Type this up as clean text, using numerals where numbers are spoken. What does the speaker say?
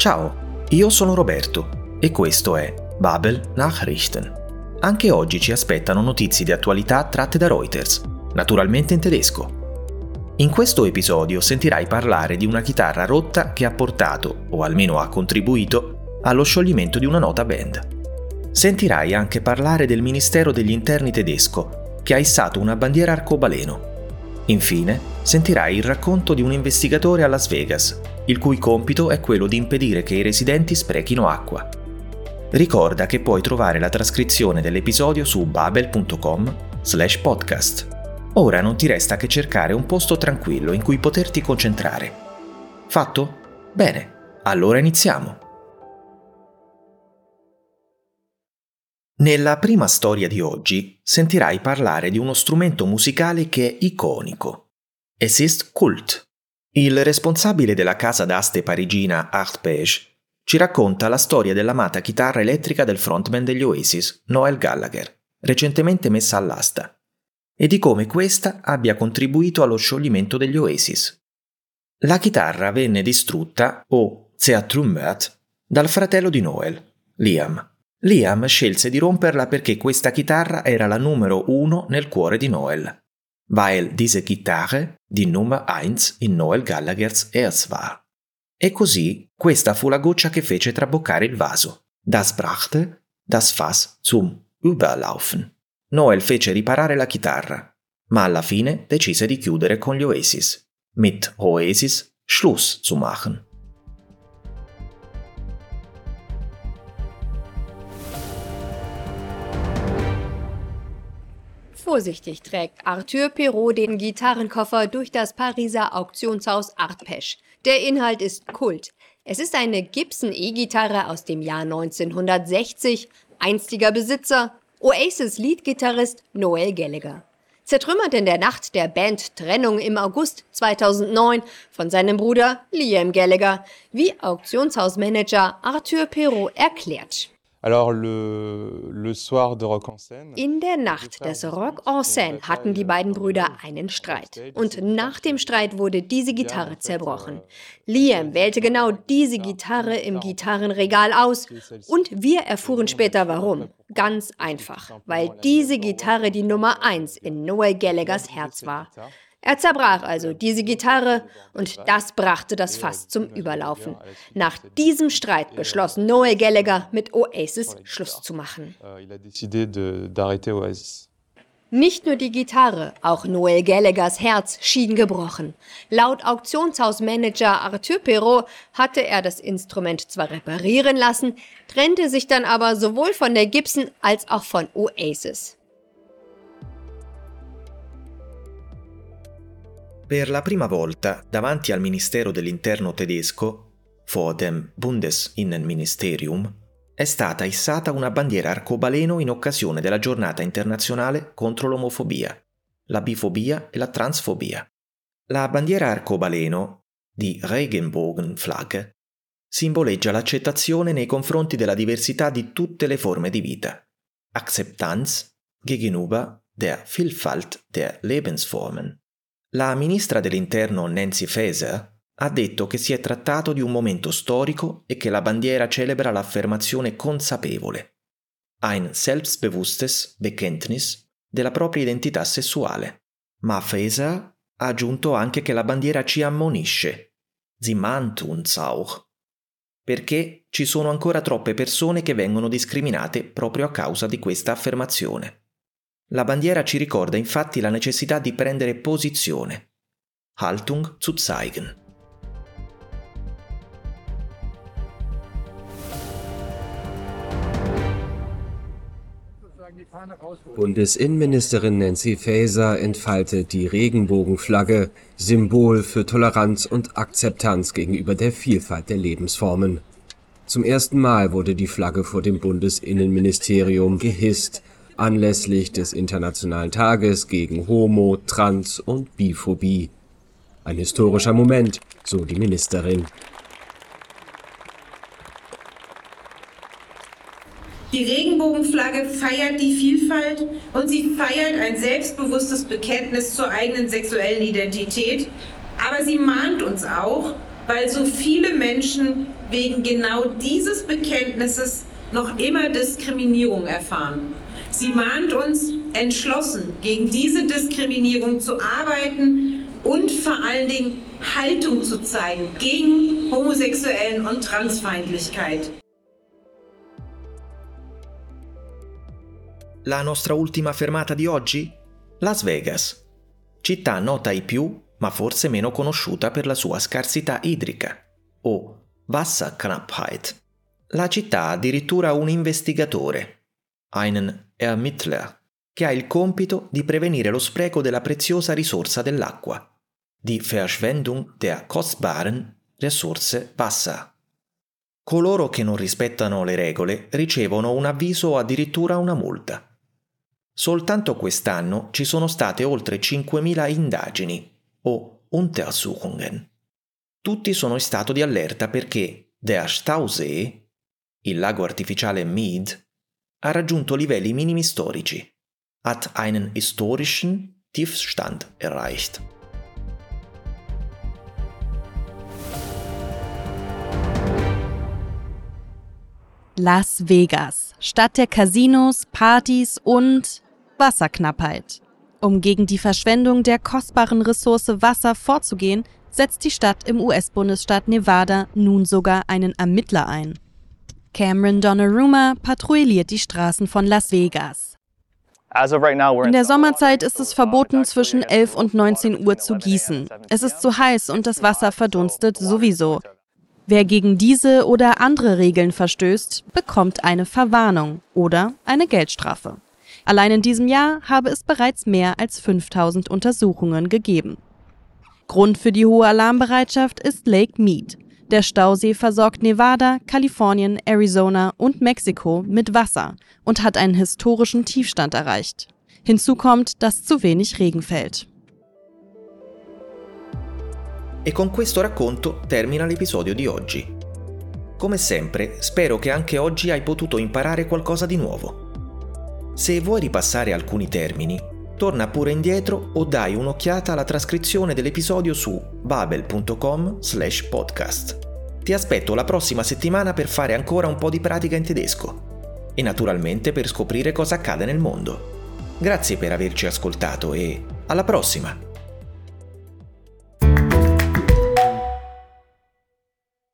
Ciao, io sono Roberto e questo è Babel Nachrichten. Anche oggi ci aspettano notizie di attualità tratte da Reuters, naturalmente in tedesco. In questo episodio sentirai parlare di una chitarra rotta che ha portato, o almeno ha contribuito, allo scioglimento di una nota band. Sentirai anche parlare del Ministero degli Interni tedesco, che ha issato una bandiera arcobaleno. Infine, sentirai il racconto di un investigatore a Las Vegas, il cui compito è quello di impedire che i residenti sprechino acqua. Ricorda che puoi trovare la trascrizione dell'episodio su babel.com/podcast. Ora non ti resta che cercare un posto tranquillo in cui poterti concentrare. Fatto? Bene, allora iniziamo. Nella prima storia di oggi sentirai parlare di uno strumento musicale che è iconico. Es ist Kult. Il responsabile della casa d'aste parigina Arpège ci racconta la storia dell'amata chitarra elettrica del frontman degli Oasis, Noel Gallagher, recentemente messa all'asta, e di come questa abbia contribuito allo scioglimento degli Oasis. La chitarra venne distrutta, o zertrümmert, dal fratello di Noel, Liam. Liam scelse di romperla perché questa chitarra era la numero 1 nel cuore di Noel, weil diese Gitarre die Nummer 1 in Noel Gallaghers Herz war. E così questa fu la goccia che fece traboccare il vaso. Das brachte das Fass zum Überlaufen. Noel fece riparare la chitarra, ma alla fine decise di chiudere con gli Oasis. Mit Oasis Schluss zu machen. Vorsichtig trägt Arthur Pirot den Gitarrenkoffer durch das Pariser Auktionshaus Arpège. Der Inhalt ist Kult. Es ist eine Gibson E-Gitarre aus dem Jahr 1960, einstiger Besitzer, Oasis-Leadgitarrist Noel Gallagher. Zertrümmert in der Nacht der Band Trennung im August 2009 von seinem Bruder Liam Gallagher, wie Auktionshausmanager Arthur Pirot erklärt. In der Nacht des Rock en Seine hatten die beiden Brüder einen Streit. Und nach dem Streit wurde diese Gitarre zerbrochen. Liam wählte genau diese Gitarre im Gitarrenregal aus und wir erfuhren später warum. Ganz einfach, weil diese Gitarre die Nummer 1 in Noel Gallaghers Herz war. Er zerbrach also diese Gitarre und das brachte das Fass zum Überlaufen. Nach diesem Streit beschloss Noel Gallagher, mit Oasis Schluss zu machen. Nicht nur die Gitarre, auch Noel Gallaghers Herz schien gebrochen. Laut Auktionshausmanager Arthur Pirot hatte er das Instrument zwar reparieren lassen, trennte sich dann aber sowohl von der Gibson als auch von Oasis. Per la prima volta, davanti al Ministero dell'Interno tedesco, vor dem Bundesinnenministerium, è stata issata una bandiera arcobaleno in occasione della giornata internazionale contro l'omofobia, la bifobia e la transfobia. La bandiera arcobaleno, di Regenbogenflagge, simboleggia l'accettazione nei confronti della diversità di tutte le forme di vita, Akzeptanz gegenüber der Vielfalt der Lebensformen. La ministra dell'Interno Nancy Faeser ha detto che si è trattato di un momento storico e che la bandiera celebra l'affermazione consapevole, ein selbstbewusstes Bekenntnis, della propria identità sessuale. Ma Faeser ha aggiunto anche che la bandiera ci ammonisce, sie mahnt uns auch, perché ci sono ancora troppe persone che vengono discriminate proprio a causa di questa affermazione. La bandiera ci ricorda infatti la necessità di prendere posizione, Haltung zu zeigen. Bundesinnenministerin Nancy Faeser entfaltet die Regenbogenflagge, Symbol für Toleranz und Akzeptanz gegenüber der Vielfalt der Lebensformen. Zum ersten Mal wurde die Flagge vor dem Bundesinnenministerium gehisst, anlässlich des Internationalen Tages gegen Homo-, Trans- und Biphobie. Ein historischer Moment, so die Ministerin. Die Regenbogenflagge feiert die Vielfalt und sie feiert ein selbstbewusstes Bekenntnis zur eigenen sexuellen Identität, aber sie mahnt uns auch, weil so viele Menschen wegen genau dieses Bekenntnisses noch immer Diskriminierung erfahren. Sie mahnt uns, entschlossen gegen diese Diskriminierung zu arbeiten und vor allen Dingen Haltung zu zeigen gegen Homosexuellen- und Transfeindlichkeit. La nostra ultima fermata di oggi? Las Vegas, città nota ai più, ma forse meno conosciuta per la sua scarsità idrica, o Wasserknappheit. La città ha addirittura un investigatore, einen Ermittler, che ha il compito di prevenire lo spreco della preziosa risorsa dell'acqua, die Verschwendung der kostbaren Ressource Wasser. Coloro che non rispettano le regole ricevono un avviso o addirittura una multa. Soltanto quest'anno ci sono state oltre 5.000 indagini, o Untersuchungen. Tutti sono in stato di allerta perché der Stausee, il lago artificiale Mead, ha raggiunto livelli minimi storici, hat einen historischen Tiefstand erreicht. Las Vegas, Stadt der Casinos, Partys und Wasserknappheit. Um gegen die Verschwendung der kostbaren Ressource Wasser vorzugehen, setzt die Stadt im US-Bundesstaat Nevada nun sogar einen Ermittler ein. Cameron Donnarumma patrouilliert die Straßen von Las Vegas. In der Sommerzeit ist es verboten, zwischen 11 und 19 Uhr zu gießen. Es ist zu heiß und das Wasser verdunstet sowieso. Wer gegen diese oder andere Regeln verstößt, bekommt eine Verwarnung oder eine Geldstrafe. Allein in diesem Jahr habe es bereits mehr als 5.000 Untersuchungen gegeben. Grund für die hohe Alarmbereitschaft ist Lake Mead. Der Stausee versorgt Nevada, Kalifornien, Arizona und Mexiko mit Wasser und hat einen historischen Tiefstand erreicht. Hinzu kommt, dass zu wenig Regen fällt. E con questo racconto termina l'episodio di oggi. Come sempre, spero che anche oggi hai potuto imparare qualcosa di nuovo. Se vuoi ripassare alcuni termini, torna pure indietro o dai un'occhiata alla trascrizione dell'episodio su babel.com/podcast. Ti aspetto la prossima settimana per fare ancora un po' di pratica in tedesco e naturalmente per scoprire cosa accade nel mondo. Grazie per averci ascoltato e alla prossima!